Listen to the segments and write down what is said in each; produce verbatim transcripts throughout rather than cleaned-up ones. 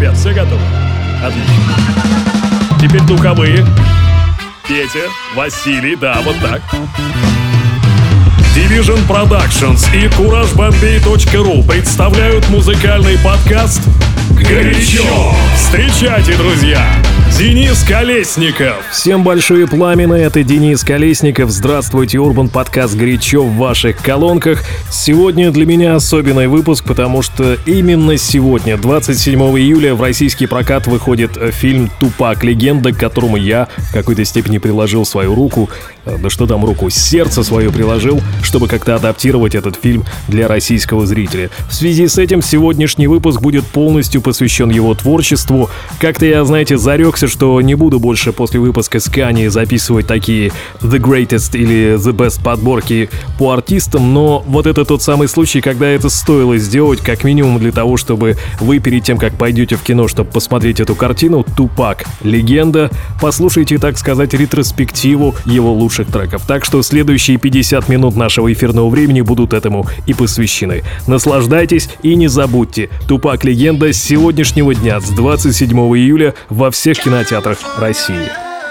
ребят, все готовы? Отлично. Теперь духовые. Петя, Василий, да, вот так. Division Productions и CourageBombay.ru представляют музыкальный подкаст «Горячо». Встречайте, друзья, Денис Колесников. Всем большие пламена, это Денис Колесников. Здравствуйте, Урбан подкаст «Горячо» в ваших колонках. Сегодня для меня особенный выпуск, потому что именно сегодня, двадцать седьмого июля, в российский прокат выходит фильм «Тупак. Легенда», к которому я в какой-то степени приложил свою руку, да что там руку, сердце свое приложил, чтобы как-то адаптировать этот фильм для российского зрителя. В связи с этим сегодняшний выпуск будет полностью посвящен его творчеству. Как-то я, знаете, зарекся, что не буду больше после выпуска с Kanye записывать такие The Greatest или The Best подборки по артистам, но вот это тот самый случай, когда это стоило сделать, как минимум для того, чтобы вы перед тем, как пойдете в кино, чтобы посмотреть эту картину «Тупак. Легенда», послушайте, так сказать, ретроспективу его лучших треков. Так что следующие пятьдесят минут нашего эфирного времени будут этому и посвящены. Наслаждайтесь и не забудьте, «Тупак. Легенда» с сегодняшнего дня, с двадцать седьмого июля во всех кинотеатрах России.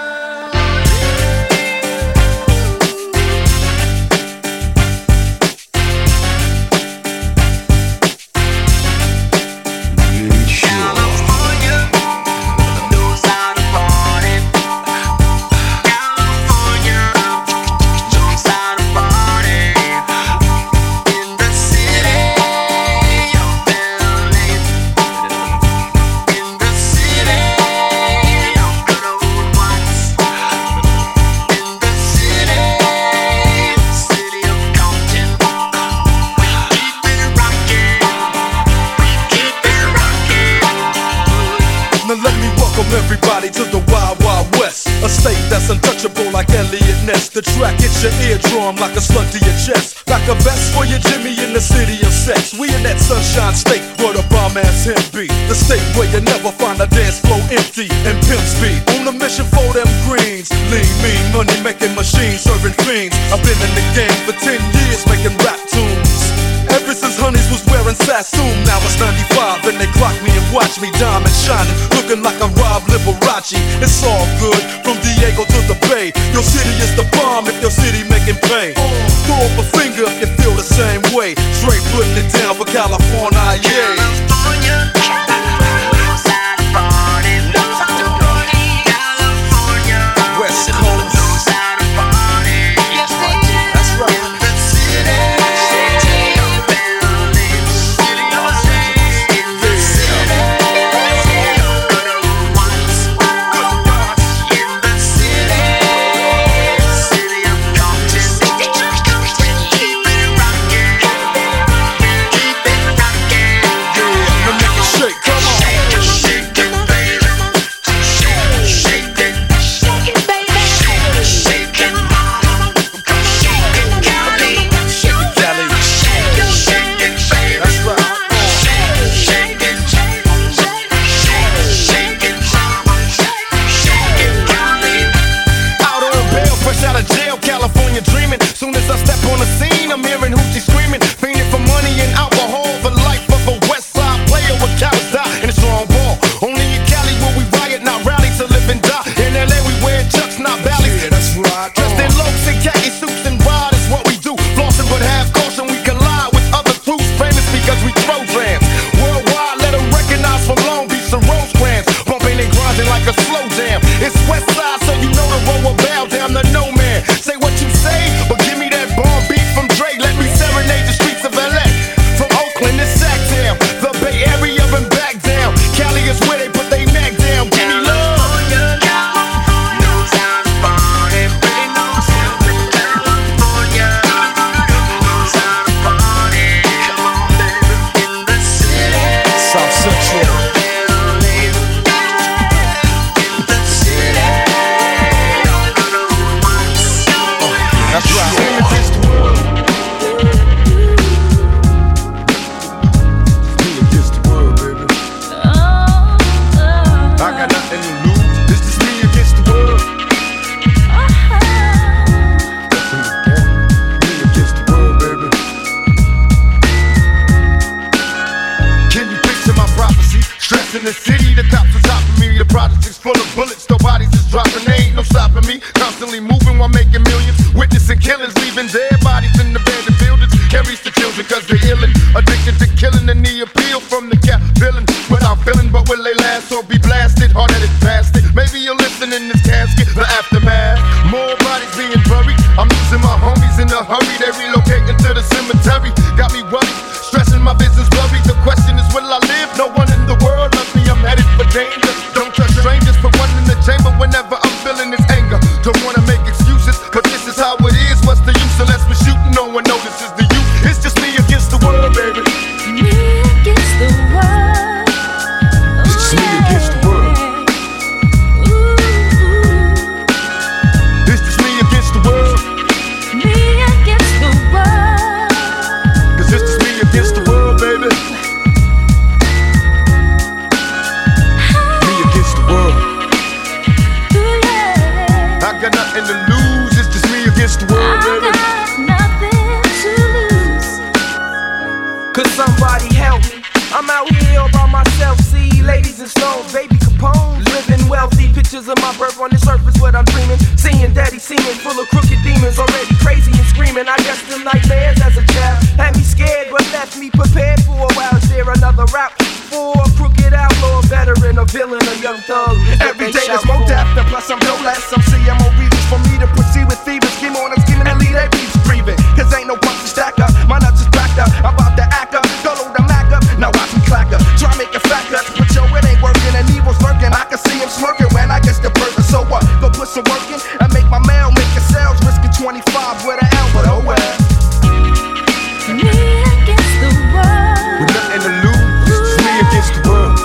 The track hits your eardrum like a slug to your chest, like a vest for your Jimmy in the city of sex. We in that sunshine state where the bomb ass him be, the state where you never find a dance floor empty and pimp speed. On a mission for them greens, lean, mean, money making machines, serving fiends. I've been in the game for ten years making rap tunes. Ever since Honeys was wearing Sassoon, now it's ninety-five and they clock me and watch me diamond shining, looking like I'm Rob Liberace. It's all good from Diego to the Bay. Your city is the bomb if your city making pain. Throw up a finger if you feel the same way. Straight putting it down for California, yeah. California. streets in the city, the cops are topping me. The project is full of bullets, no bodies is dropping. They ain't no stopping me. Constantly moving while making millions. Witnessing killings, leaving dead bodies in the abandoned buildings. Can't reach the children cause they're illin'. Addicted to killing and the appeal from the cap villain. Without feeling, but will they last or be blasted? Hard-headed bastard. Maybe you'll listen in this casket, the aftermath. More bodies being buried. I'm losing my homies in a hurry. They relocating to the cemetery. Got me worried, stressing my business blurry. The question is, will I live? No one in the world loves me. I'm headed for danger. Don't trust strangers. Put one in the chamber whenever I'm feeling this anger. Don't wanna make excuses, but this is how it is. What's the use unless we're shooting? No one notices the youth. It's just me against the world, baby. Me against the world. It's just me against the world. Ooh. It's just me against the world. Me against the world. Cause it's just me against the world, baby. Me against the world. Ooh, yeah. I got nothing to lose. It's just me against the world, baby. I got nothing to lose. Could somebody help me? I'm out here all by myself, see ladies and stones, baby Capone, living wealthy. Pictures of my birth on the surface, what I'm dreaming. Seeing daddy seeming full of crooked demons, already crazy and screaming. I guess them nightmares as a child had me scared, but left me prepared for a while. Is there another route for a crooked outlaw, a veteran, a villain, a young thug? Every day there's more death, and plus I'm no less. Some C M O reasons for me to proceed with thieves. Scheme on, I'm scheming and lead that beats breathing. Cause ain't no punch to stack up. My nuts is backed up. I'm about to act up. Go load the Mac up. Now watch me clack up. Try make a fat cut. But yo, it ain't working and evil's lurking. I can see him smirking when I get the burger. So what? Go put some work in and make my mail, make a sales. Risking twenty-five with an L, but oh well. Me against the world. With nothing to lose, it's me against the world.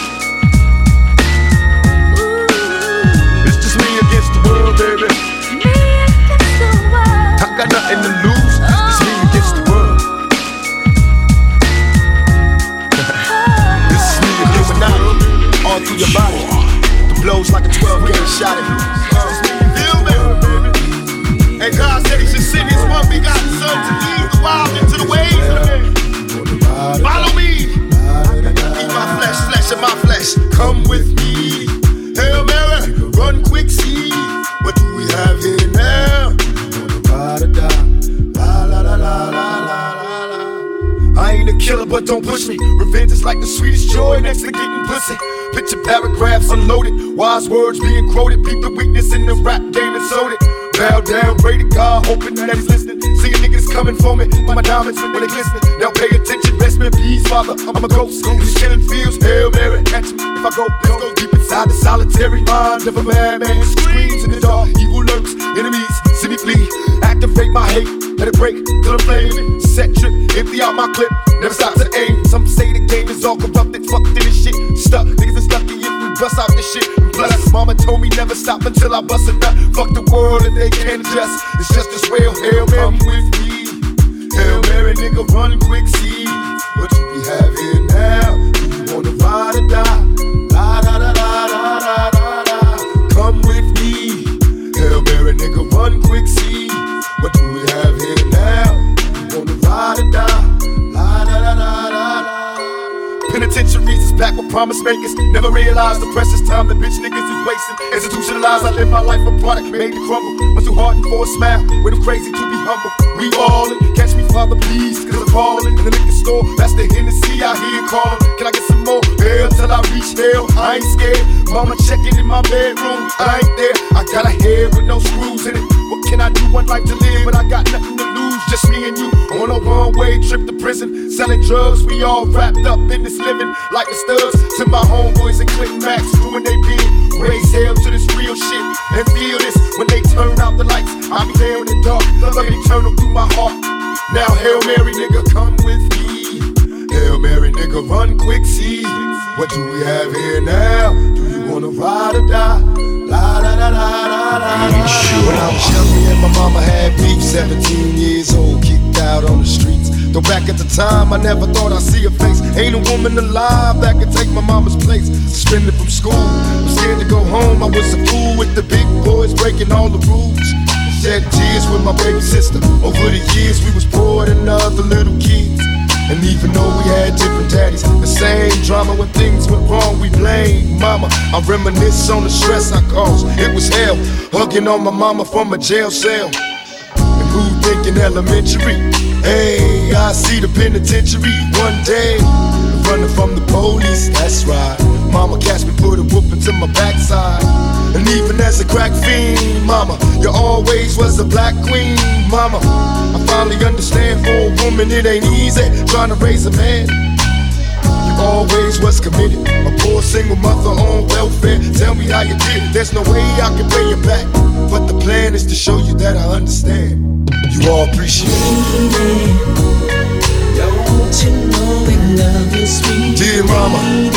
Ooh. It's just me against the world, baby. Me against the world. I got nothing to lose, it's me against the world. This is me against the world. All through your body. The blows like a twelve gauge shot at you. Feel me? And God said he should send his one begotten son to lead the wild into the ways of the man. Follow me. Eat my flesh, flesh of my flesh. Come with me. Hail Mary, run quick, see. What do we have here now? I ain't a killer, but don't push me. Revenge is like the sweetest joy next to getting pussy. Picture paragraphs unloaded, wise words being quoted. Peep the weakness in the rap game and sold it. Bow down, pray to God, hoping that he's listening. Seeing niggas coming for me, my diamonds when they glisten. Now pay attention, rest in peace, Father. I'm a ghost, these killing fields. Hail Mary, catch me if I go. Let's go deep inside the solitary mind of a madman. Screams in the dark, evil lurks, enemies see me flee. Activate my hate, let it break till I'm flaming. Set trip, empty out my clip, never stop to aim. Some say the game is all corrupted, fucked in this shit. Stuck, niggas is lucky if we bust out this shit. Plus, mama told me never stop until I bust a nut. Fuck the world and they can't adjust. It's just as real. Hail Mary, come with me. Hail Mary, nigga, run quick, see. What do we have here now? Do you wanna ride or die? La da da da da da da da. Come with me. Hail Mary, nigga, run quick, see. What do we have here now? Do you wanna ride or die? La da da da da da. Penitentiaries is packed with promise makers. Never realized the precious time the bitch niggas is wasting. Institutionalized, I live my life a product made to crumble. Was too hardened for a smile, way too crazy to be humble. We all in, catch me, Father, please, cause I'm calling. In the liquor store, that's the Hennessy I hear calling. Can I get some more? Hell till I reach hell, I ain't scared. Mama checking in my bedroom, I ain't there. I got a head with no screws in it. What can I do? One life to live, but I got nothing to lose. Just me and you on a one-way trip to prison. Selling drugs, we all wrapped up in this living. Like the studs to my homeboys and Click Max, doing they bid. Raise hell to this real shit and feel this. When they turn out the lights, I'll be there in the dark. Love eternal through my heart. Now Hail Mary, nigga, come with me. Hail Mary, nigga, run quick, see. What do we have here now? Do you wanna ride or die? La da da da da da. When I was young, me and my mama had beef. Seventeen years old, kicked out on the streets. Though back at the time, I never thought I'd see her face. Ain't a woman alive that could take my mama's place. Suspended from school, I'm scared to go home. I was a fool with the big boys breaking all the rules. Shed tears with my baby sister. Over the years, we was poor than other little kids. And even though we had different daddies, the same drama when things went wrong, we mama. I reminisce on the stress I caused. It was hell, hugging on my mama from a jail cell. And who thinking elementary? Hey, I see the penitentiary one day. Running from the police, that's right. Mama catch me, put a whooping to my backside. And even as a crack fiend, mama, you always was a black queen, mama. I finally understand for a woman it ain't easy trying to raise a man. You always was committed, a poor single mother on welfare. Tell me how you did it, there's no way I can pay you back. But the plan is to show you that I understand. You all appreciate it. Don't you know we love you, sweet dear mama.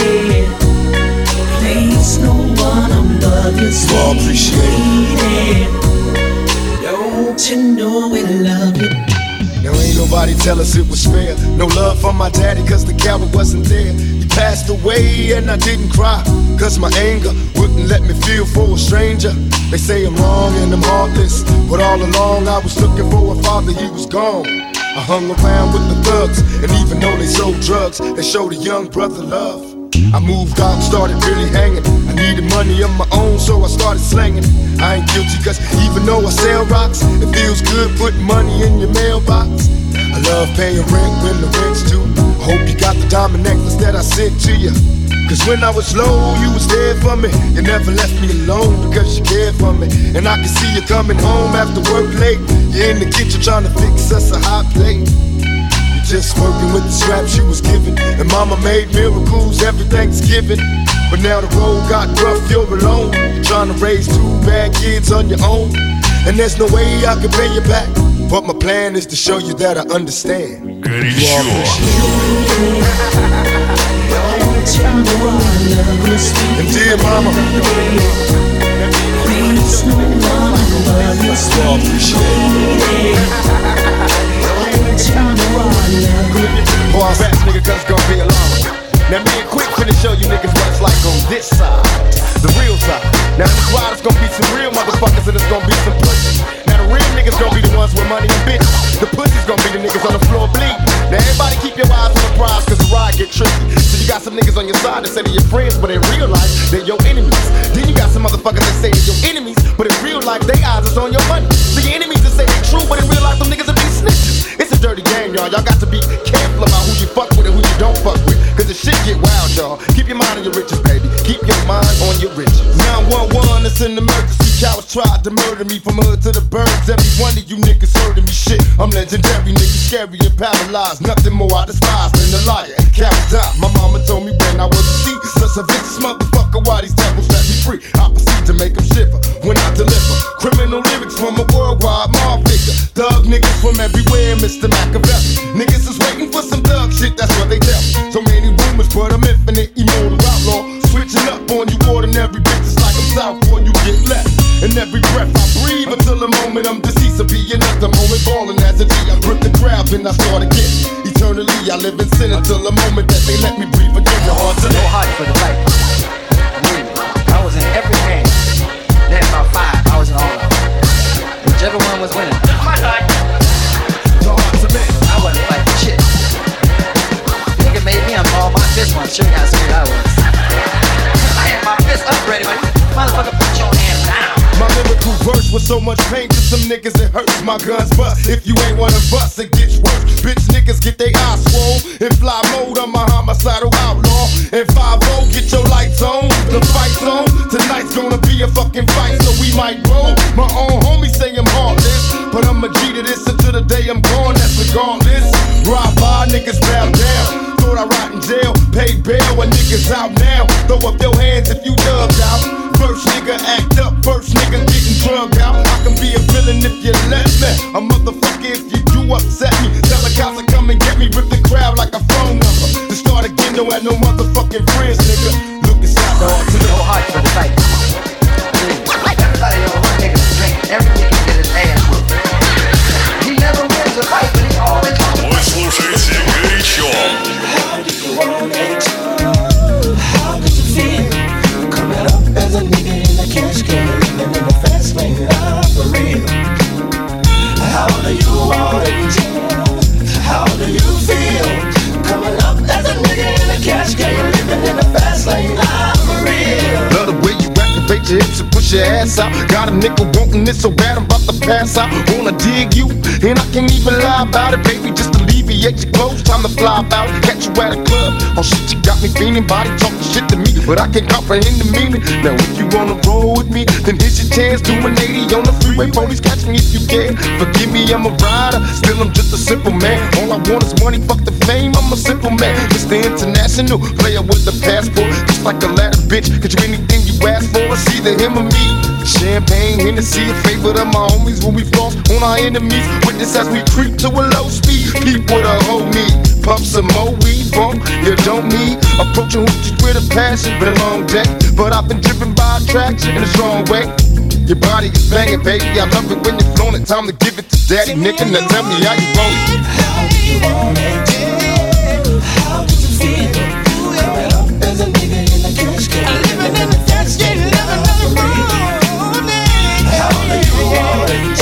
Please, no one above you, sweet You all appreciate it. Don't you know we love you? Now ain't nobody tell us it was fair. No love from my daddy cause the coward wasn't there. He passed away and I didn't cry cause my anger wouldn't let me feel for a stranger. They say I'm wrong and I'm heartless, but all along I was looking for a father, he was gone. I hung around with the thugs, and even though they sold drugs, they showed a young brother love. I moved out, started really hanging. I needed money of my own, so I started slanging. I ain't guilty, cause even though I sell rocks, it feels good putting money in your mailbox. I love paying rent when the rent's due. I hope you got the diamond necklace that I sent to you. Cause when I was low, you was there for me. You never left me alone because you cared for me. And I can see you coming home after work late. You're in the kitchen trying to fix us a hot plate. You're just working with the scraps you was given. And mama made miracles every Thanksgiving. But now the road got rough, you're alone. You're trying to raise two bad kids on your own. And there's no way I can pay you back. But my plan is to show you that I understand. Горячо. And dear mama, Please, no one above you, you all appreciate it. Don't you know I love you? Boy, I'm fast, nigga, cause it's gonna be a long one. Now me and Quick finna show you niggas what it's like on this side, the real side. Now in the squad it's gonna be some real motherfuckers and it's gonna be some pussies. Now the real niggas gonna be the ones with money and bitches. The pussies gonna be the niggas on the floor bleeding. Now everybody keep your eyes on the prize cause the ride get tricky. So you got some niggas on your side that say they're your friends, but in real life they're your enemies. Then you got some motherfuckers that say they're your enemies, but in real life they eyes is on your money. So your enemies that say they true, but in real life them niggas will be snitches. It's a dirty game, y'all. Y'all got to be careful about who you fuck with and who you don't fuck with. Cause the shit get wild, y'all. Keep your mind on your riches, baby. Keep your mind on your riches. nine one one, it's an emergency. Cowards tried to murder me from hood to the burbs. Every one of you niggas heard of me. Shit, I'm legendary, niggas scary and paralyzed. Nothing more I despise than a liar and cowards die. My mama told me when I was a seed, such a vicious motherfucker, why these devils set me free? I proceed to make them shiver when I deliver criminal lyrics from a worldwide mob figure. Thug niggas from everywhere, Mister Machiavelli. Niggas is waiting for some thug shit, that's what they tell me. So many rumors, but I'm infinite, immortal outlaw. Switching up on you, ordinary bitches like I'm Southpaw, you get left. And every breath I breathe until the moment I'm deceased. I'll be another moment balling as a G. I rip the crowd and I start again. Eternally, I live in sin until the moment that they let me breathe again. Your heart to No heart for the fight. I was in every game. Then about five, I was in all of them. Whichever one was winning. My heart. Your heart to men. I wasn't fighting shit. Nigga made me unball my fist once. Show you how scared I was. I had my fist up ready, but motherfucker, put your hand down. My lyrical verse with so much pain to some niggas it hurts. My guns bust. If you ain't one of us, it gets worse. Bitch niggas get they eyes swole. In fly mode, I'm a homicidal outlaw. And five oh, get your lights on. The fight's on. Tonight's gonna be a fucking fight, so we might roll. My own homies say I'm heartless, but I'm a G to this until the day I'm gone. That's regardless. Ride by, niggas bow down. Thought I rot in jail, pay bail when niggas out now. Throw up your hands if you dubbed out. First nigga act up, first nigga getting drugged out. I can be a villain if you let me. A motherfucker if you do upset me. Tell the cops to come and get me, rip the crowd like a phone number. To start again, don't have no motherfucking friends, nigga. Look inside the heart to the No heart for the fight. Everybody know one nigga drinking. Every nigga get his ass whooped. He never wins a fight, but he always wins. Вы слушаете «Горячо». How could you feel coming up as a nigga in a cash can, living in a fast lane for real? How do you want it? How do you feel coming up as a nigga in a cash can, living in a fast lane for real? bust your ass out. Got a nigga wanting this so bad, I'm about to pass out. Wanna dig you, and I can't even lie about it, baby. Just alleviate your clothes, time to fly about. Catch you at a club, oh shit, you got me feeling. Body talking shit to me, but I can't comprehend the meaning. Now if you wanna roll with me, then here's your chance. Do an eighty on the freeway, police catch me if you can. Forgive me, I'm a rider, still I'm just a simple man. All I want is money, fuck the fame, I'm a simple man. Mister International, player with the passport. Just like a ladder, bitch, cause you anything you ask for, it's either him or me. Champagne, Hennessy, a favorite of my homies when we floss on our enemies. Witness as we creep to a low speed. Keep what a hoe need. Pump some more weed, bump, you don't need. Approaching hoochies with a passion, been a long day, but I've been driven by attraction in a strong way. Your body is banging, baby, I love it when you're flown it. Time to give it to daddy, nigga, now tell me how you want it. How do you want it? How did you feel? Coming up as a nigga in the cash game. Living in the cash game, living in the morning. How do you want it?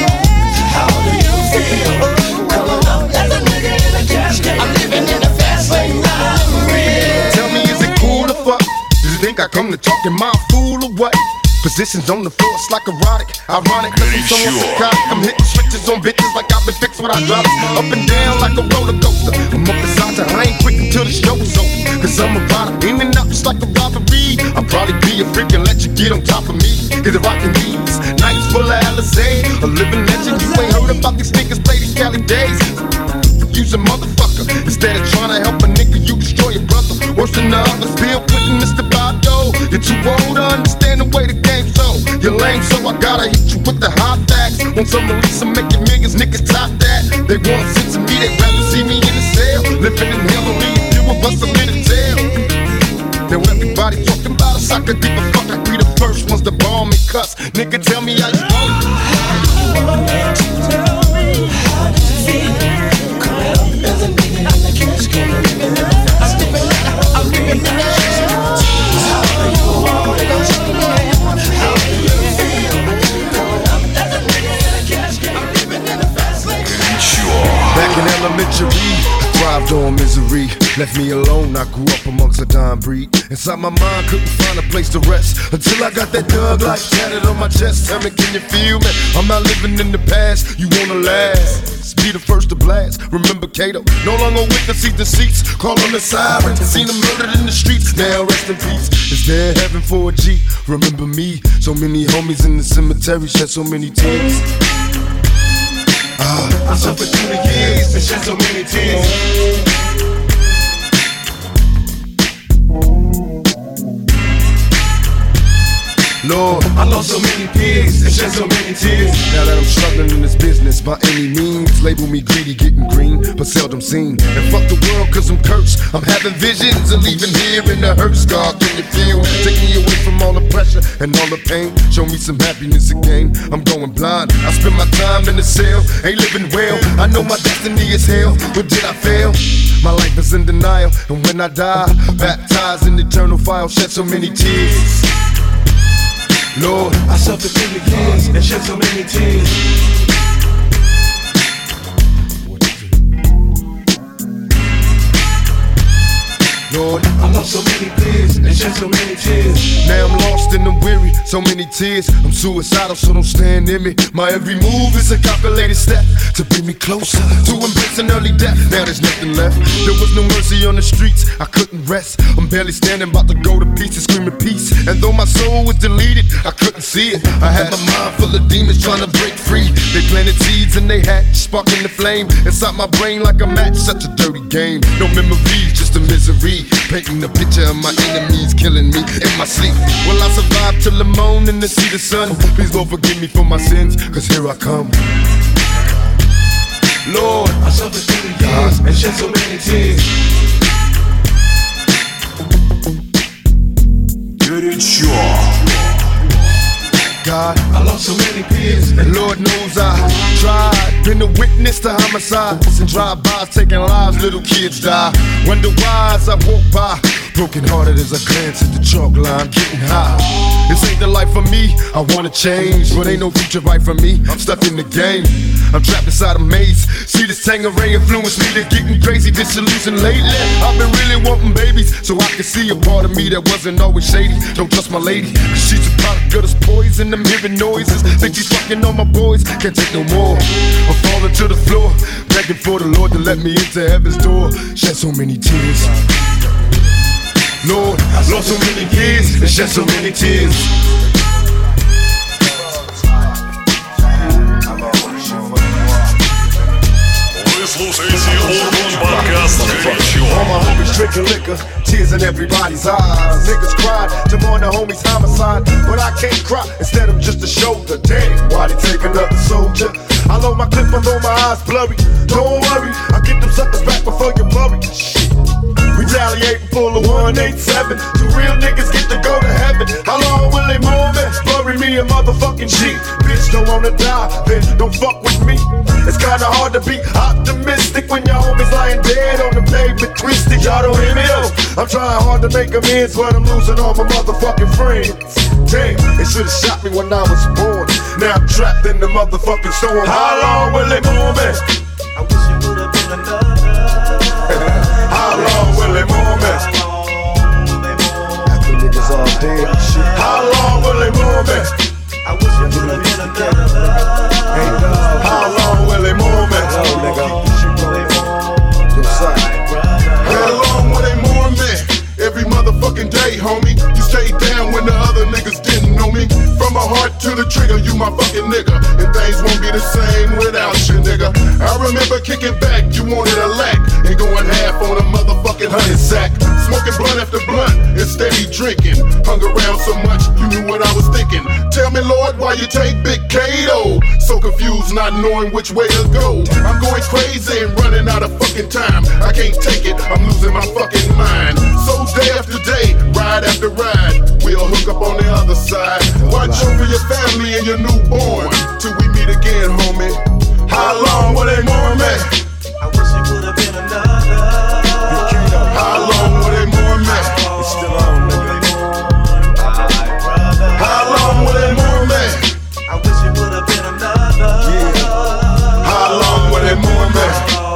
How do you feel? Coming up as a nigga in the cash game. I'm living in the fast lane, I'm real. Tell me, is it cool or fuck? Do you think I come to talk in my fool or what? Positions on the floor, it's like erotic, ironic, cause I'm so psychotic. I'm hitting switches on bitches like I've been fixed with hydraulics. Up and down like a roller coaster. I'm up beside you, I ain't quick until the show's over. Cause I'm a rider, in and out just like a robbery. I'll probably be a freak and let you get on top of me. Cause if I can these nights full of Alizé, a living legend. You ain't heard about these niggas play these Cali days. Use a motherfucker, instead of trying to help a nigga, you destroy your brother. Worse than the others, Bill Clinton, Mister Bado. You're too old to understand the way the game's so. You're lame, so I gotta hit you with the hot facts. Want some release, I'm making millions, niggas top that. They want a sense of me, they'd rather see me in a cell. Living in hell, only a few of us are in a jail. Now everybody talking about us, I could give a fuck. I be the first ones to bomb and cuss. Nigga, tell me how you want it. How do you want it? Tell me, how did you feel? Coming up as a nigga in the cash game. Living in the fast lane, I'm living in the cash game. How do you want it? How do you feel? Coming up as a nigga in the cash game. I'm living in the fast lane. Back in elementary, I thrived on misery. Left me alone, I grew up amongst a dying breed. Inside my mind, couldn't find a place to rest until I got that Doug like tatted on my chest. Tell me, can you feel me? I'm not living in the past, you wanna last. Be the first to blast. Remember Kato, no longer with the seat the seats. Call on the siren, seen them murdered in the streets. Now rest in peace. Is there heaven for a G? Remember me, so many homies in the cemetery shed so many tears. Ah, I suffered through the years and shed so many tears. Lord, I lost so many peers and shed so many tears. Now that I'm struggling in this business by any means, label me greedy, getting green, but seldom seen. And fuck the world cause I'm cursed. I'm having visions of leaving here in the hearse. God, can you feel? Take me away from all the pressure and all the pain. Show me some happiness again. I'm going blind. I spend my time in the cell, ain't living well. I know my destiny is hell, but did I fail? My life is in denial, and when I die, baptized in eternal fire, shed so many tears. Lord, I suffered through the years and shed so many tears. Lord, I lost so many peers and shed so many tears. Now I'm lost and I'm weary, so many tears. I'm suicidal, so don't stand near me. My every move is a calculated step to bring me closer to embracing early death. Now there's nothing left. There was no mercy on the streets, I couldn't rest. I'm barely standing, about to go to pieces, screaming peace. And though my soul was deleted, I couldn't see it. I had my mind full of demons trying to break free. They planted seeds and they hatched, sparking the flame inside my brain like a match. Such a dirty game. No memories, just a misery. Painting a picture of my enemies killing me in my sleep. Will I survive till the morning to see the sun? Please Lord forgive me for my sins, cause here I come. Lord, I suffered through the years and shed so many tears. Горячо. God, I lost so many peers, and Lord knows I tried. Been a witness to homicides and drive-bys taking lives, little kids die. Wonder why as I walk by, Broken hearted as I glance at the chalk line, getting high. This ain't the life for me, I wanna change, but ain't no future right for me, I'm stuck in the game. I'm trapped inside a maze, see this Tangeray influence me to getting crazy, disillusioned lately. I've been really wanting babies, so I can see a part of me that wasn't always shady. Don't trust my lady, cause she's a product of this poison, I'm hearing noises. Think she's fucking on my boys, can't take no more. I'm falling to the floor, begging for the Lord to let me into heaven's door. Shed so many tears, Lord, lost so many years and shed so many tears. Вы слушаете Urban подкаст «Горячо». All my homies drinking liquor, tears in everybody's eyes. Niggas cried to mourn the homies' homicide, but I can't cry, instead I'm just a shoulder. Damn, why they take another soldier? I load my clip, I know my eyes blurry. Don't worry, I'll get them suckers back before you blurry. Shit. Retaliating full of one eighty-seven. Two real niggas get to go to heaven. How long will they mourn me? Bury me a motherfucking G. Bitch, don't wanna die, then don't fuck with me. It's kinda hard to be optimistic when your homies lying dead on the pavement, twisted. Y'all don't hear me though. I'm trying hard to make amends, but I'm losing all my motherfucking friends. Damn, they should've shot me when I was born. Now I'm trapped in the motherfucking storm. How long will they mourn me? I wish it would've been another. How long will they mourn me? After niggas all dead and shit. How long will they mourn me? I wish it would've been another. How long will they mourn me? How long will they mourn me? Every motherfucking day, homie. You stayed down when the other niggas didn't know me. From my heart to the trigger, you my fucking nigga. And things won't be the same without you, nigga. I remember kicking back, you wanted a lack. And going half on a motherfucking honey sack. Smoking blunt after blunt and steady drinking. Hung around so much, you knew what I was thinking. Tell me, Lord, why you take Big Kato? So confused, not knowing which way to go. I'm going crazy and running out of fucking time. I can't take it, I'm losing my fucking mind. So day after day, ride after ride, we'll hook up on the other side. Watch over your family and your newborn till we meet again, homie. How long will they mourn me? I wish it would've been another. How long will they mourn me? It's still on, nigga. How long will they mourn me? I wish it would've been another. Yeah. How long will they mourn me?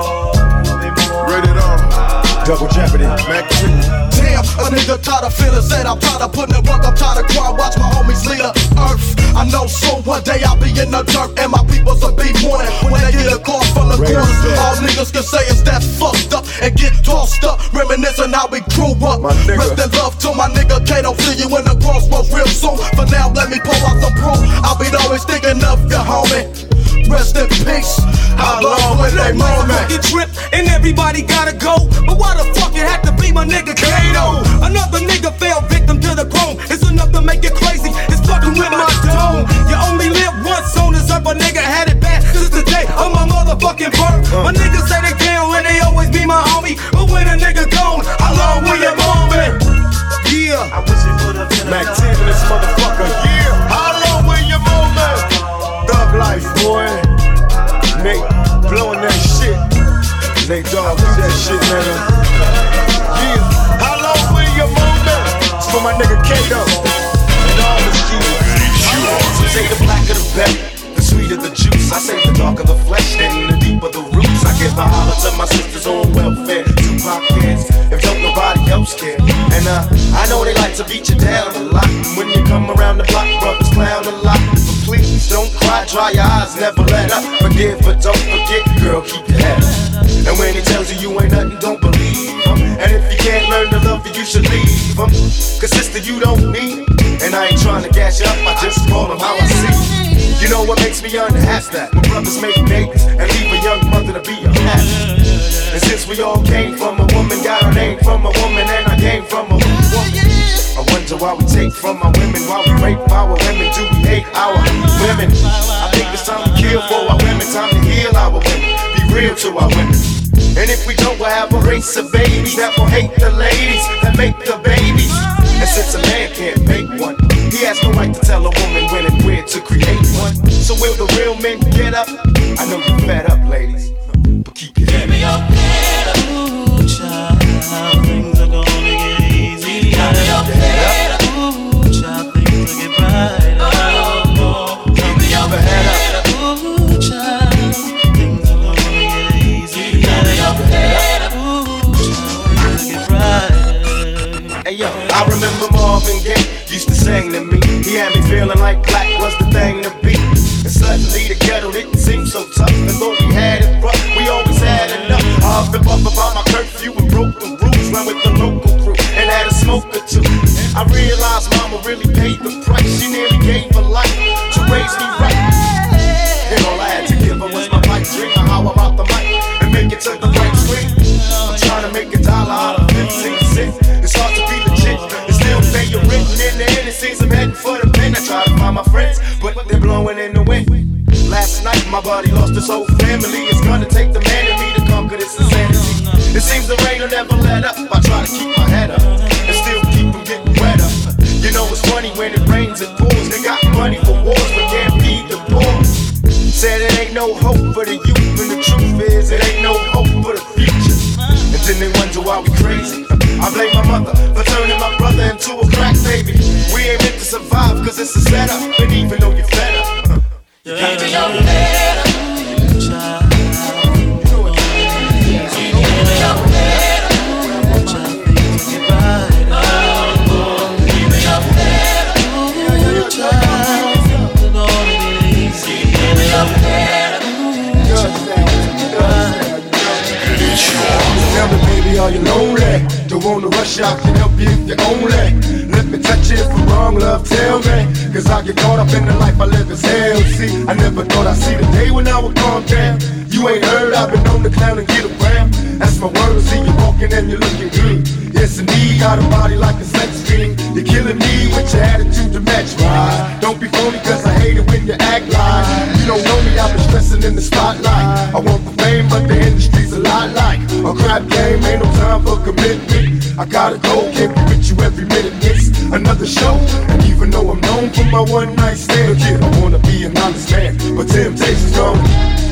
Rated R. Double Jeopardy. Mac two. Damn, a nigga tired of feeling sad. I'm tired of putting it work. I'm tired of crying. Watch my homies lead the earth. I know so one day I'll be in the dirt and my peoples will be mourning when they get a call from the corner. All niggas can say is that's fucked up and get tossed up, reminiscing how we grew up. Rest in love to my nigga Kato. See you in the crossroads real soon. For now, let me pull out some proof. I'll be always thinking of you, homie. Rest in peace. How long will they mourn me? Trip and everybody gotta go, but why the fuck it had to be my nigga Kato? Another nigga fell victim to the chrome. It's enough to make it crazy. It's fucking with my dome. You only live once on this earth. A nigga had it bad since the day of my motherfucking birth. My niggas say they can when they always be my homie, but when a nigga gone, how long will you mourn me? Yeah. I wish it would've been Mac ten in this motherfucker. Yeah. How long will you mourn me? Thug life, boy. Nate blowing that shit. Nate Dogg do that shit, nigga. Yeah. How long will you mourn me? It's for my nigga Kato and all the G's. Say the blacker the better, the sweeter the juice. I say the darker the flesh and the deeper the roots. I give a holler to my sisters on welfare. Tupac kids, if don't nobody else care. And uh, I know they like to beat you down a lot. When you come around the block, brothers clown a lot. But please don't cry, dry your eyes, never let up. Forgive but don't forget, girl, keep your head up. And when he tells you you ain't nothing, don't believe him. And if you can't learn to love you, you should leave him. Cause sister, you don't need. And I ain't trying to gas you up, I just call him how I see. You know what makes me unhappy? That when brothers make babies and leave a young mother to be unhappy. And since we all came from a woman, got our name from a woman, and I came from a woman. I wonder why we take from our women, why we rape our women, do we hate our women? I think it's time to kill for our women, time to heal our women, be real to our women. And if we don't, we'll have a race of babies that will hate the ladies that make the babies. And since a man can't make one, he has no right to tell a woman when and where to create one. So will the real men get up? I know you're fed up, ladies, but keep your head up. Ooh, child, things are gonna get easy. Marvin Gaye used to sing to me. He had me feeling like black was the thing to be. And suddenly the ghetto didn't seem so tough. And though we had it rough, we always had enough. I up and up about my curfew and broke the rules. Ran with the local crew and had a smoke or two. I realized mama really paid the price. She nearly gave her life to raise me right. And all I had to give her was my pipe dream. How about the mic and make it to the right screen? I'm trying to make a dollar out of fifteen cents. It's hard to be legit and still pay your rent. And in the end it seems I'm heading for the pen. I try to find my friends, but they're blowing in the wind. Last night my buddy lost his whole family. It's gonna take the man in me to conquer this insanity. It seems the rain will never let up. I try to keep my head up and still keep from getting wetter. You know it's funny when it rains it pours. They got money for wars but can't feed the poor. Said it ain't no hope for the youth, and the truth is it ain't no hope for the future. And then they wonder why we crazy. I blame my mother for turning my brother into a crack baby. We ain't meant to survive cause it's a setup. And even though you're fed up, you gotta be your better. Tell me, baby, are you lonely? Don't wanna rush out, can help you if you're only. Let me touch you if I'm wrong, love, tell me. Cause I get caught up in the life I live as hell. See, I never thought I'd see the day when I would calm down. You ain't heard, I've been on the clown and get around. That's my word, see you walking and you're looking good. Yes, indeed, got a body like a sex fiend. You're killing me with your attitude to match mine. Don't be phony cause I hate it when you act like you don't know me, I've been stressing in the spotlight. I want the fame, but the industry's a lot like a crap game, ain't no time for commitment. I gotta go, can't be with you every minute. It's another show, and even though I'm known for my one night stand, yeah, I wanna be an honest man, but temptation's gone.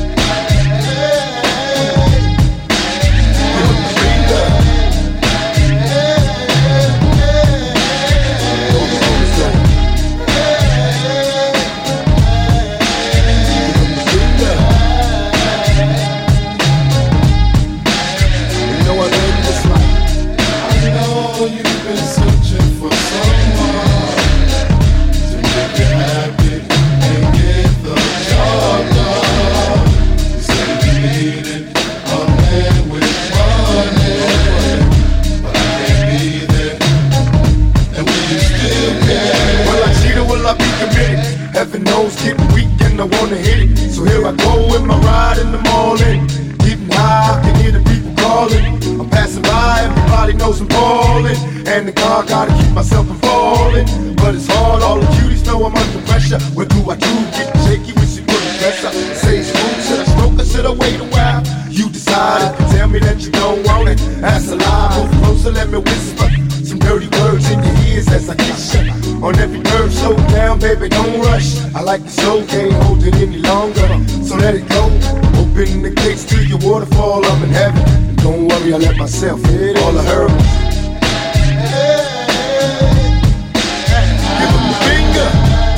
Heaven knows getting weak and I wanna hit it. So here I go with my ride in the morning. Getting high, I can hear the people calling. I'm passing by, everybody knows I'm ballin'. And the car gotta keep myself from falling. But it's hard, all the cuties know I'm under pressure. What do I do? Get shaky when she put the pressure. Say smooth, should I stroke or should I wait a while? You decide, if you tell me that you don't want it. That's a lie, move closer, let me whisper some dirty words in your ears as I kiss you. On every curve, slow down, baby, don't rush. I like it so, can't hold it any longer. So let it go, open the gates to your waterfall, I'm in heaven. And don't worry, I let myself hit all the hurdles. Give him the finger.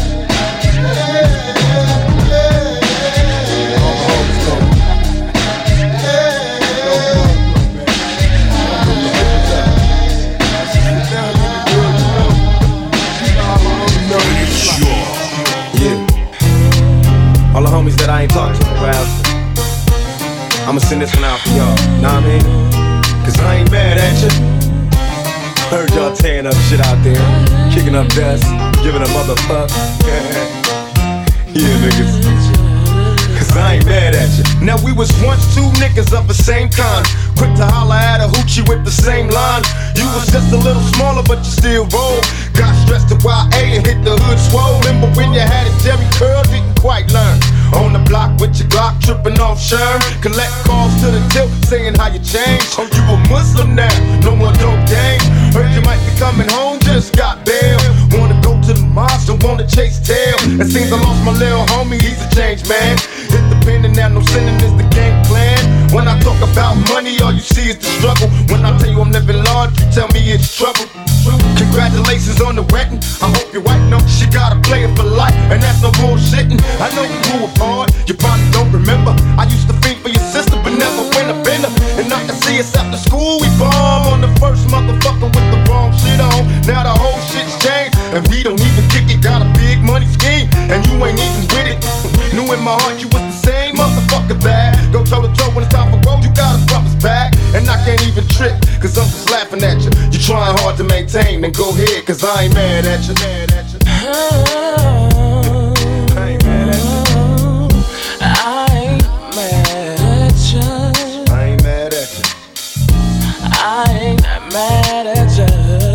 All the homies that I ain't talked to in a while, I'ma send this one out for y'all, know what I mean? Cause I ain't mad at you. Heard y'all tearing up shit out there, kicking up dust, giving a motherfuck. Yeah, niggas. Cause I ain't mad at you. Now we was once two niggas of the same kind, quick to holler at a hoochie with the same line. You was just a little smaller but you still roll. Got stressed to Y A and hit the hood swole. Remember when you had a Jerry curl, didn't quite learn. On the block with your Glock, tripping off Sherm. Collect calls to the tilt, saying how you changed. Oh, you a Muslim now, no more dope game. Heard you might be coming home, just got bail. Wanna go to the mosque, don't wanna chase tail. It seems I lost my little homie, he's a changed man. Hit the pen and now no sinning is the gang plan. When I talk about money, all you see is the struggle. When I tell you I'm living large, you tell me it's trouble. Congratulations on the wedding, I hope your wife knows she got a player for life, and that's no bullshitting. I know we grew apart, you probably don't remember. I used to think for your sister, but never went up in her. And I can see us after school, we bomb on the first motherfucker with the wrong shit on. Now the whole shit's changed. And we don't even kick it, got a big money scheme, and you ain't even with it. Knew in my heart you was the same motherfucker bad. Go toe to toe when it's time for road, you gotta drop his back. And I can't even trip, cause I'm just laughing at you. You trying hard to maintain, then go ahead, cause I ain't mad at you. Mad at you. I ain't mad at you. I ain't mad at you. I ain't mad at you. I ain't mad at you.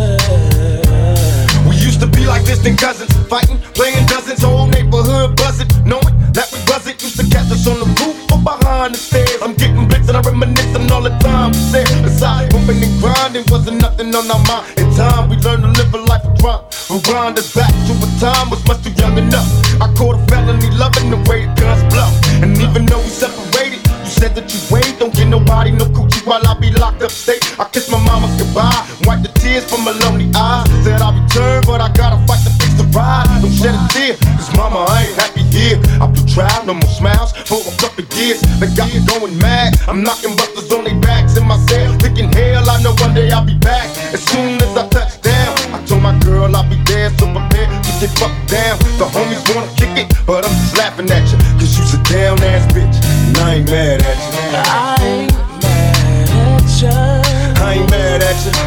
We used to be like distant cousins, fighting, playing dozens, whole neighborhood buzzing, knowing that we was it. Used to catch us on the roof or behind the stairs. I'm getting blitzed and I reminiscing all the time we said. Besides moving and grinding, wasn't nothing on our mind. In time we learned to live a life of crime. Who grind us back to a time was much too young enough. I caught a felony loving the way the guns blow. And even though we separated, you said that you wait, don't get nobody no coochie while I be locked up state. I kiss my mama goodbye, wipe the tears from my lonely eyes. Said I'll return, but I gotta fight to fix the ride. Don't shed a tear, cause mama, I ain't happy here. I blew trial, no more smiles for a couple years. They got me going mad, I'm knocking busters on their backs in my cell. Thinking hell, I know one day I'll be back. As soon as I touch down, I told my girl I'll be there, so prepare to get fucked down. The homies wanna kick it, but I'm just laughing at you, cause you's a down ass bitch, and I ain't mad at you. I ain't mad at you. I ain't mad at you.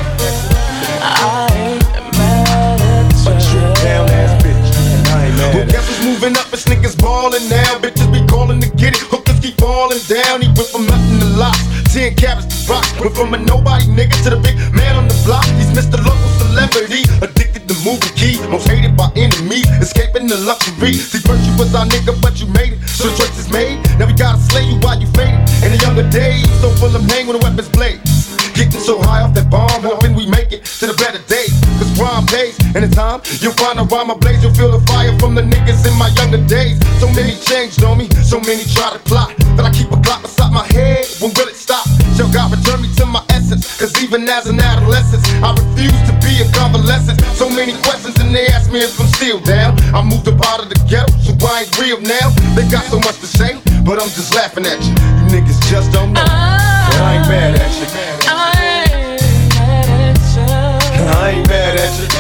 I ain't mad at you. But you're a down ass bitch, and I ain't mad at you. Well, guess who's moving up? It's niggas ballin' now. Bitches be calling to get it. Hookers keep falling down. He went from nothing to lots. Ten carats to rocks. Went from a nobody nigga to the big man on the block. He's Mister Local Celebrity. Addicted to moving key. Most hated by enemies. Escaping the luxury. See, first you was our nigga, but you made it. So the choice is made. Now we gotta slay you while you faded. In the younger days, so full of pain when the weapons blade. Getting so high off that bomb, hoping we make it to the better days. Cause crime pays, and in time, you'll find a rhyme ablaze. You'll feel the fire from the niggas in my younger days. So many changed on me, so many try to plot. That I keep a clock beside my head, when will it stop? Shall God return me to my essence? Cause even as an adolescent, I refuse to be a convalescent. So many questions and they ask me if I'm still down. I moved up out of the ghetto, so I ain't real now. They got so much to say, but I'm just laughing at you. You niggas just don't know, but I ain't mad at you. I ain't mad at you. I ain't mad at you.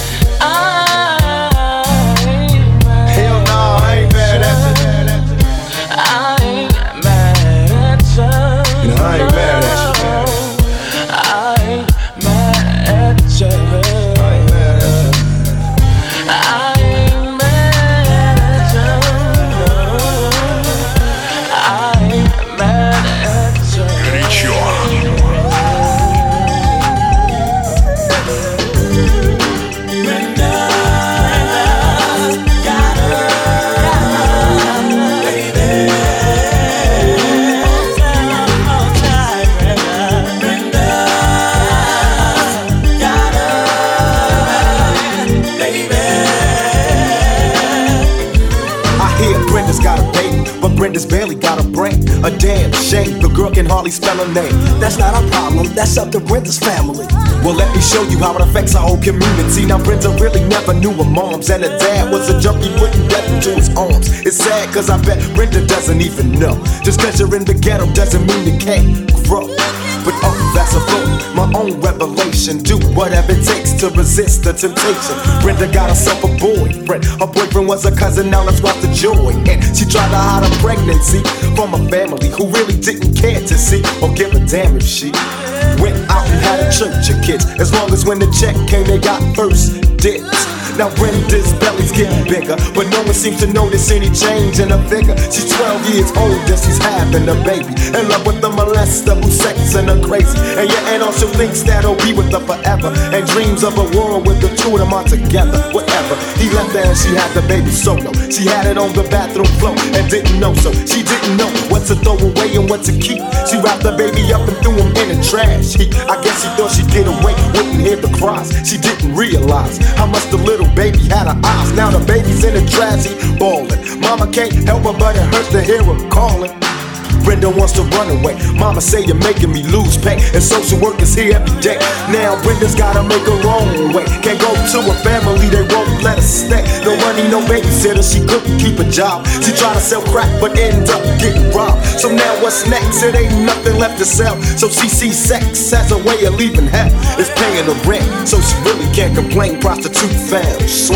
I ain't mad. Hell no, I ain't mad at you. I ain't mad at you. No, I ain't mad at you. I ain't mad at you. I ain't mad at you. I ain't mad at you. I ain't mad at you. Горячо. Brenda's barely got a brain. A damn shame, the girl can hardly spell her name. That's not our problem, that's up to Brenda's family. Well, let me show you how it affects our whole community. Now, Brenda really never knew her moms, and her dad was a junkie putting death into his arms. It's sad, cause I bet Brenda doesn't even know. Just cause you're in the ghetto doesn't mean you can't grow. But oh, that's a fault, my own revelation. Do whatever it takes to resist the temptation. Brenda got herself a boyfriend. Her boyfriend was a cousin, now let's watch the joy. And she tried to hide her pregnancy from a family who really didn't care to see or give a damn if she went out and had a church of kids. As long as when the check came, they got first dibs. Now Brenda's belly's getting bigger, but no one seems to notice any change in her figure. She's twelve years old and she's having a baby. In love with the molester who's sexing her crazy. And your aunt also thinks that he'll be with her forever, and dreams of a world with the two of them are together. Whatever, he left her and she had the baby solo. She had it on the bathroom floor and didn't know, so she didn't know what to throw away and what to keep. She wrapped the baby up and threw him in the trash heap. I guess she thought she'd get away, wouldn't hear the cries. She didn't realize how much the little baby had her eyes. Now the baby's in the trash heap bawling. Mama can't help her, but it hurts to hear her calling. Brenda wants to run away. Mama say you're making me lose pay, and social work is here every day. Now Brenda's gotta make her own way. Can't go to a family, they won't let her stay. No money, no babysitter, she couldn't keep a job. She tried to sell crack, but ended up getting robbed. So now what's next? It ain't nothing left to sell. So she sees sex as a way of leaving hell. It's paying the rent, so she really can't complain. Prostitute fam,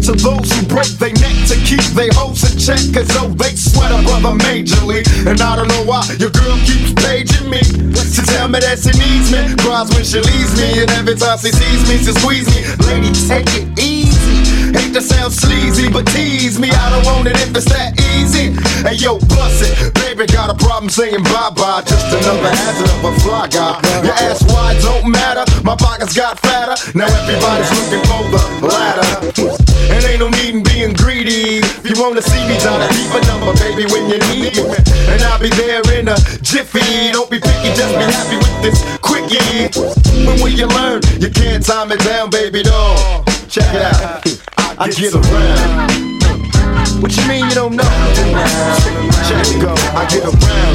to those who break their neck to keep their hopes in check. Cause oh, they sweat a brother majorly. And I don't know why your girl keeps paging me to tell me that she needs me. Cries when she leaves me, and every time she sees me, she squeeze me. Lady, take it easy. Hate to sound sleazy, but tease me. I don't want it if it's that easy. Hey yo, bust it. Baby got a problem saying bye-bye. Just another hazard of a fly guy. Your ass wide don't matter. My pockets got fatter. Now everybody's looking for the ladder. And ain't no need in being greedy. If you wanna see me, dial a deeper number, baby, when you need me. And I'll be there in a jiffy. Don't be picky, just be happy with this quickie. When will you learn? You can't time it down, baby doll. Check it out. I get around. What you mean you don't know? Check it go. I get around.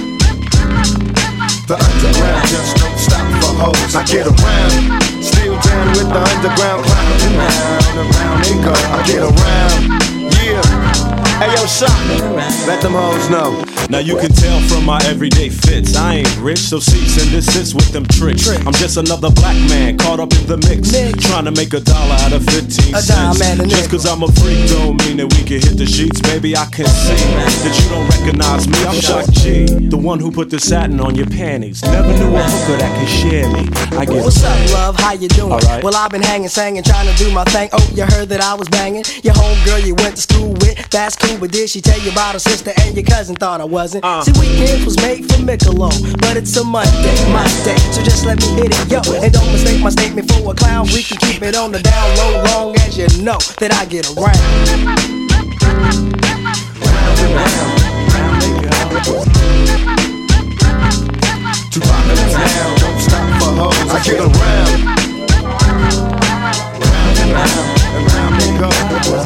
The underground just don't stop for hoes. I get around. Still down with the underground clown. Around, around they go. I get around. Yeah. Hey yo, shot. Let them hoes know. Now you can tell from my everyday fits, I ain't rich, so cease and desist with them tricks. I'm just another black man caught up in the mix, trying to make a dollar out of fifteen cents. Just cause I'm a freak don't mean that we can hit the sheets. Baby, I can see that you don't recognize me. I'm Shock G, the one who put the satin on your panties. Never knew a hooker that could share me. I get What's up, love? How you doing? Right. Well, I've been hanging, singing, trying to do my thing. Oh, you heard that I was banging your homegirl you went to school with. That's cool, but did she tell you about her sister and your cousin? Thought I wasn't. Uh. See, weekends was made for Michelob, but it's a Monday, my day, so just let me hit it, yo. And don't mistake my statement for a clown. We can keep it on the down low, long as you know that I get around. Round and round, round they go. Two pockets down, don't stop for hoes. I get around. Round and round, and round they go.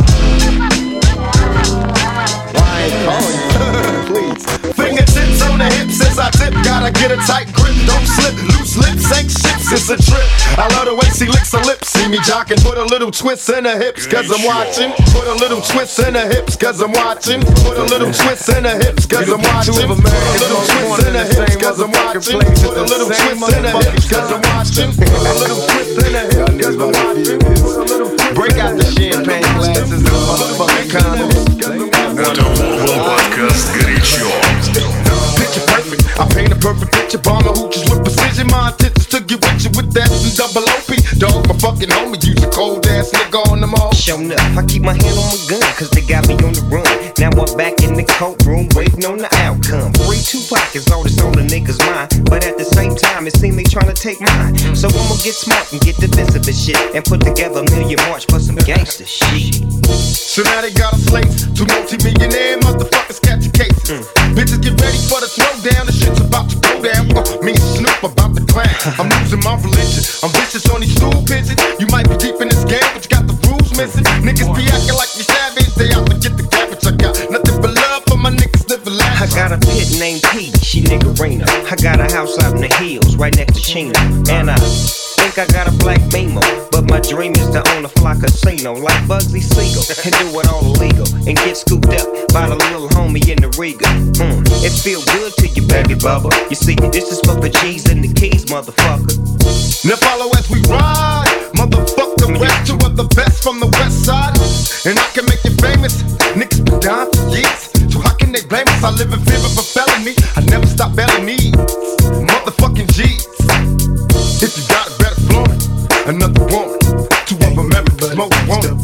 Why ain't calling you? Please. Fingertips on the hips as I tip. Gotta get a tight grip, don't slip. Loose lips ain't ships, it's a trip. I love the way she licks her lips. See me jocking, put a little twist in her hips, cause I'm watching. Put a little twist in her hips, cause I'm watching. Put a little twist in her hips, cause I'm watching. Put a little twist in her hips, cause I'm watching. Put a little twist in her hips, cause I'm watching. Put a little twist in her hips, cause I'm watching. Break out the champagne glasses and motherfucking condoms. Это Urban Podcast горячо. Picture perfect, I paint a perfect picture. Bomber hooches with precision. My intentions to get with you with that and double O P. Dog, my fucking homie, use a cold ass nigga on them all. Showing up, I keep my hand on my gun, cause they got me on the run. Now I'm back in the courtroom, waiting on the outcome. Free Tupac is all that's on the niggas' mind, but at the same time, it seems they tryna take mine. So I'ma get smart and get defensive and shit, and put together a million march for some gangster shit. So now they got us slates, two multi-millionaire motherfuckers catch a case. Mm. Bitches get ready for the throwdown, the shit's about to go down. Uh, me and Snoop about to clown. I'm losing my religion, I'm vicious on these stool pigeons. You might be deep in this game, but you got the rules missing. Niggas be acting like you savage, they out to get the cabbage. I got nothing but love for my niggas living life. I got a pit named Pete, she niggerina. I got a house out in the hills, right next to Chino. And I think I got a black Beamer, but my dream is to own a fly casino like Bugsy Siegel and do it all illegal and get scooped up by the little homie in the Riga. Mm, it feel good to you, baby bubba. You see, this is for the G's and the keys, motherfucker. Now follow as we ride, motherfucker. Rap two of the best from the west side, and I can make you famous. Niggas been down for years, so how can they blame us? I live in fear of a felony. I never stop belling these motherfucking G's. If you got it, better flaunt it. Another woman, two of America's most wanted.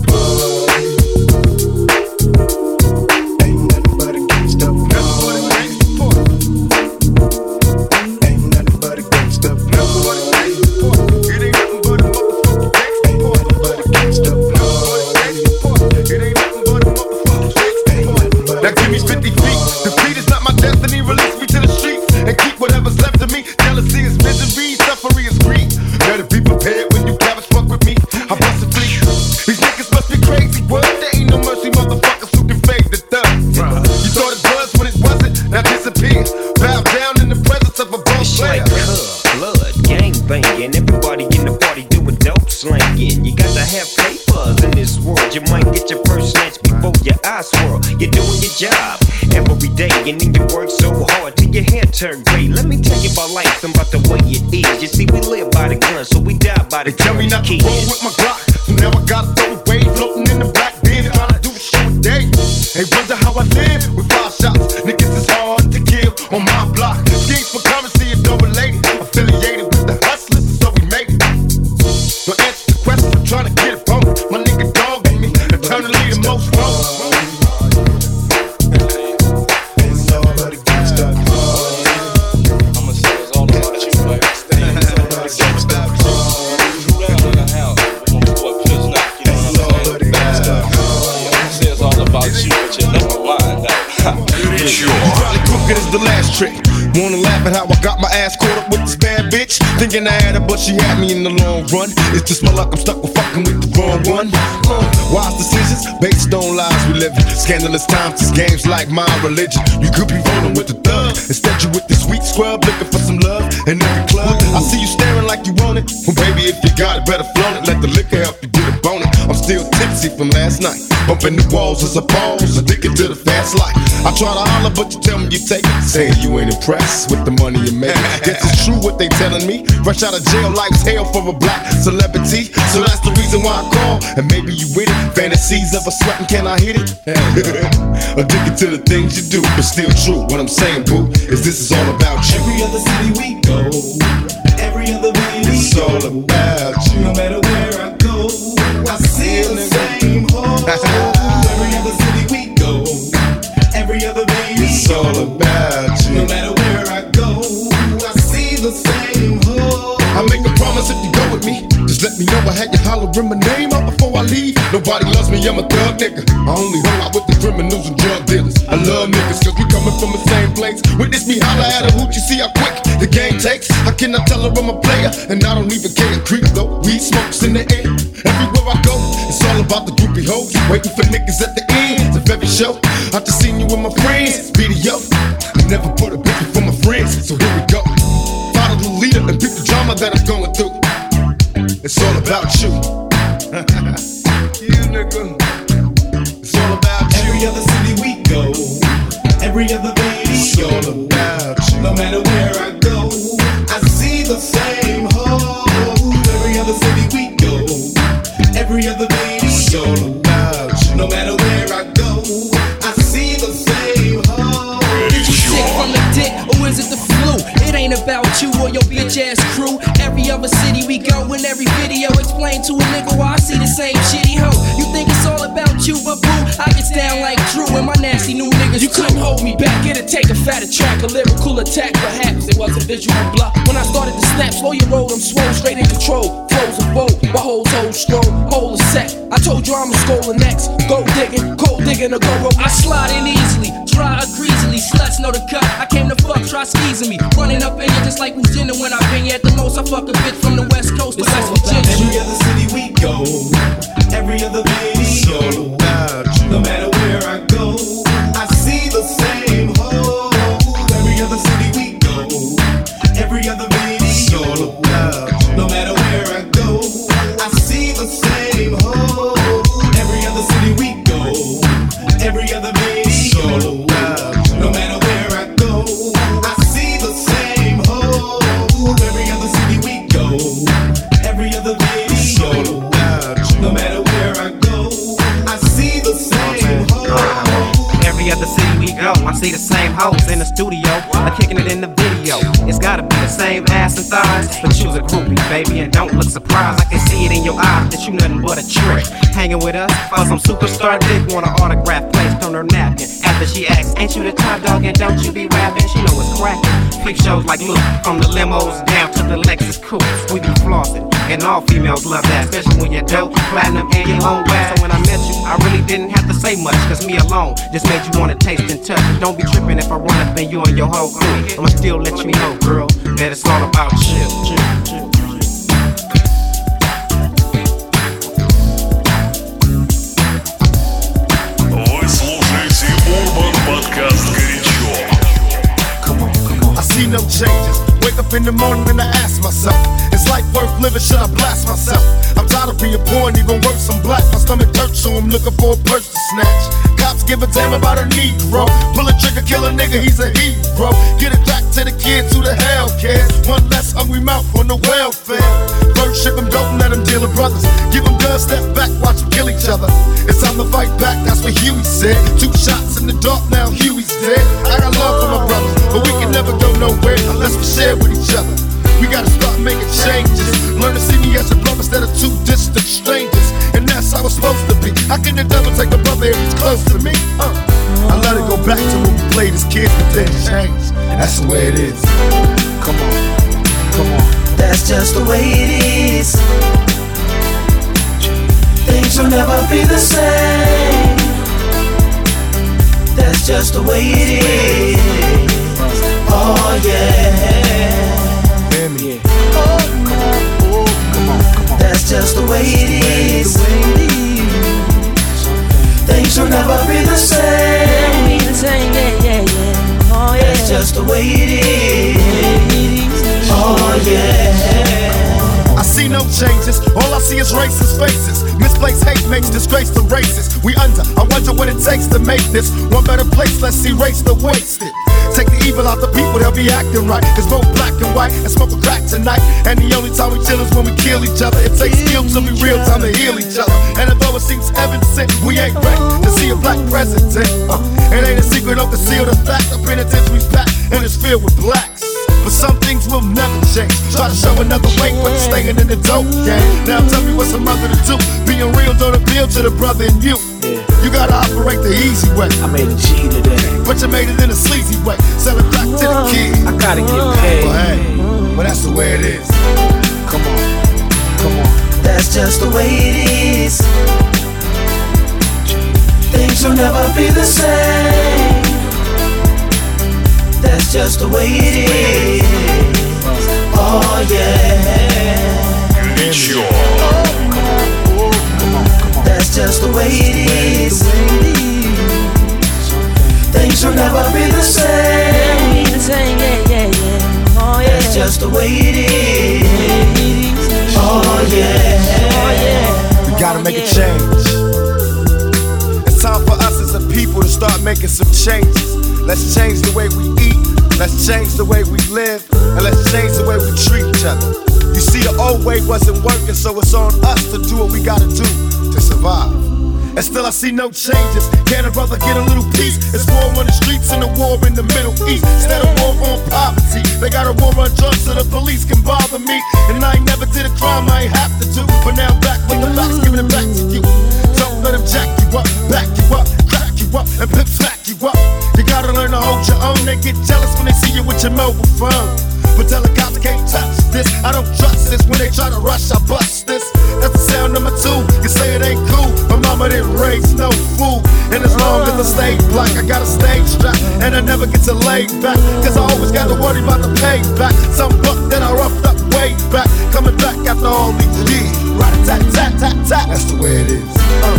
Ain't nothing but a gangsta. Ain't nothing but a gangsta. It ain't nothing but a motherfucking gangsta. Ain't nothing but a gangsta. It ain't nothing but a motherfucking gangsta. Now give me fifty feet. Defeat is not my destiny. Release me to the streets and keep whatever's left of me. Jealousy is misery, suffering is greed. Better be prepared when you cabbage fuck with me. I bust a fleet. These niggas must be crazy. What? There ain't no mercy, motherfuckers who can fade the thug. You thought it was when it wasn't. Now disappear. Bow down in the presence of a boss player. It's like cub, blood, gang banging. Everybody in the party doing dope slanging. You got to have papers in this world. You might get your first snatch before your eyes swirl. You're doing your job every day, and then you work so hard till your hair turn gray. Let me tell you about life and about the way it is. You see, we live by the gun, so we die by the gun. Tell me not to roll with my Glock, so now I gotta throw away, floating in the black They wonder how I live with five shots. Niggas is hard to kill on my block. Schemes for currency and double related. Affiliated with the hustlers, so we made it. So answer the question, I'm trying to get it from my nigga dog in me. Eternally the most wrong. Is the last trick. Wanna laugh at how I got my ass caught up with this bad bitch? Thinking I had her, but she had me in the long run. It's just my luck, I'm stuck with fucking with the wrong one. Uh, wise decisions based on lies we live in. Scandalous times, this game's like my religion. You could be rolling with the thug, instead you with the sweet scrub, looking for some love in every club. I see you staring like you want it. Well, baby, if you got it, better flaunt it. Let the liquor help you get a bone it. I'm still tipsy from last night. Bumping the walls as a pause, addicted to the fast life. I try to holler, but you tell me you take it. Saying you ain't impressed with the money you make. Guess it's true what they telling me. Fresh out of jail, life's hell for a black celebrity. So that's the reason why I call. And maybe you with it. Fantasies of a sweating, can I hit it? Addicted to the things you do, but still true. What I'm saying, boo, is this is all about you. Every other city we go, every other baby, it's all about you. No matter where I go, I see the same hole. Every other city we go, every other baby, it's all about you. No matter where I go, I see the same hole. I make a promise if you go with me, just let me know. I had you hollering my name out before I leave. Nobody loves me, I'm a thug nigga. I only hang out with the criminals and drug dealers. I love niggas cause we coming from the same place. Witness me holler at a hoot, you see how quick the game takes. I cannot tell her I'm a player, and I don't even care. Creep though, weed smokes in the air. Everywhere I go, it's all about the groupie hoes. Waiting for niggas at the end of every show. I just seen you with my friends, video. I never put a bitch before my friends, so here we go. Follow the leader and pick the drama that I'm going through. It's all about you. You nigga. It's all about you. Every other city we go, every other baby, it's all about you. No matter where I go, I see the same hole. Every other city we go, every other baby, it's all about you. No matter where I go, I see the same hole. Is you sick from the dick or is it the flu? It ain't about you or your bitch ass crew. Every other city we go, in every video explain to a nigga why I see the same shitty hoe. You think it's all about you, but boo, I get down like Drew and my nasty new niggas. You couldn't hold me back, it'd take a fatter track, a lyrical attack, perhaps it was a visual block. When I started to snap, slow your roll, I'm swole, straight in control. Flows a boat, my whole toe stroll, whole is set. I told you I'm a scholar next, go digging, cold digging, or go rope. I slide in easily, dry or greasily, sluts know the cut. I came to fuck, try squeezing me, running up in you just like Virginia when I been here at the most. I fuck a bitch from the west coast to West Virginia. Every other city we go, every other baby, it's all about you. No matter where I go, I see the same hole. Every other city we go, every other baby, it's all about you. No matter where I go, I see the same hole. Every other city we go, every other baby, it's all about you. No matter where I go, I see the same hole. Every other city we go, every other baby, it's all about you. No matter where I go, I see the same hole. Every other city we go, I see the same hoes in the studio, I'm kicking it in the video. It's gotta be the same ass and thighs, but you's a groupie, baby, and don't look surprised. I can see it in your eyes that you nothing but a trick. Hanging with us, for some superstar dick, want an autograph placed on her napkin. After she asks, ain't you the top dog and don't you be rapping? She know it's cracking. Peep shows like Luke, from the limos down to the Lexus coupe. We be flossing, and all females love that, especially when you're dope, platinum, and your own wax. So when I met you, I really didn't have to say much, cause me alone just made you wanna taste and touch. Don't be tripping if I run up in you and your whole crew. I'ma still let you know, girl, that it's all about you. Вы слушаете Urban Podcast горячо. I see no changes. Wake up in the morning and I ask myself, is life worth living? Should I blast myself? I'm tired of being poor and even worse, I'm black. My stomach hurts, so I'm looking for a purse to snatch. cops give a damn about a Negro. Pull a trigger, kill a nigga, he's a hero. Get it back to the kids who the hell cares. One less hungry mouth on the welfare. First ship them, don't let them deal with brothers. Give them guns, step back, watch them kill each other. It's time to fight back, that's what Huey said. Two shots in the dark, now Huey's dead. I got love for my brothers, but we can never go nowhere unless we share with each other. We gotta start making changes. Learn to see me as a brother instead of two distant strangers. And that's how it's supposed to be. How can the devil take a brother if he's close to me? Uh. I let it go back to when we played as kids, but then changed. And that's the way it is. Come on, come on. That's just the way it is. Things will never be the same. That's just the way it is. Oh yeah. Yeah. Oh, come on, oh, come on, come on. That's just the way it is. Things will never be the same. Be the same, yeah, yeah, yeah. Oh yeah. That's just the way it is. Oh yeah. I see no changes, all I see is racist faces. Misplaced hate makes disgrace to races. We under, I wonder what it takes to make this one better place. Let's erase the wasted. Take the evil out the people, they'll be acting right. Cause both black and white and smoke a crack tonight. And the only time we chill is when we kill each other. It takes skill to be real time to heal each other. And although it seems heaven sent, we ain't ready to see a black president. Uh, it ain't a secret, don't conceal the fact. The penitentiary's packed and it's filled with blacks. But some things will never change. Try to show another way, but you're staying in the dope game. Now tell me what's a mother to do. Being real don't appeal to the brother in you. Yeah. You gotta operate the easy way. I made a G today, but you made it in a sleazy way. Sell it back to the kid. I gotta get paid. Well, hey, well that's the way it is. Come on, come on. That's just the way it is. Things will never be the same. That's just the way it is. Oh yeah. Горячо. That's just the way it is. Things will never be the same. Be the same, yeah, yeah, yeah. Oh yeah. That's just the way it is. Oh yeah. Oh yeah. We gotta make a change. It's time for us as a people to start making some changes. Let's change the way we eat, let's change the way we live, and let's change the way we treat each other. You see, the old way wasn't working, so it's on us to do what we gotta do to survive. And still I see no changes. Can a brother get a little peace? It's war on the streets and a war in the Middle East. Instead of war on poverty, they got a war on drugs so the police can bother me. And I ain't never did a crime I ain't have to do, but now I'm back with the facts, giving it back to you. Don't let them jack you up, back you up, crack you up, and pimp smack you up. You gotta learn to hold your own. They get jealous when they see you with your mobile phone. But tell the cops can't touch this. I don't trust this. When they try to rush, I bust this. That's the sound number two. You say it ain't cool. My mama didn't raise no fool. And as long as I stay black, I got a stage strap. And I never get to lay back. Cause I always gotta worry about the payback. Some buck that I roughed up way back. Coming back after all these years. Right, tat, tat, tat, tat. That's the way it is. Uh.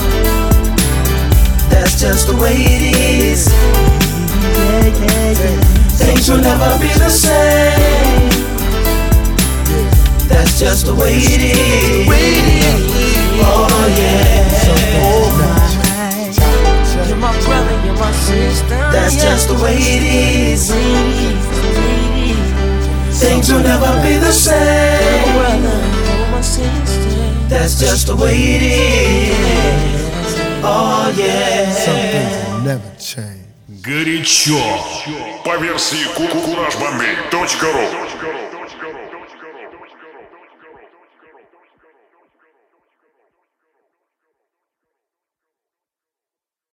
That's just the way it is. Yeah, yeah, yeah. Things will never be the same. That's just the way it is. Oh yeah. You're my brother, you're my sister. That's just the way it is. Things will never be the same. That's just the way it is. Oh yeah. Some things will never change. Горячо. По версии кураж бомбей точка ру.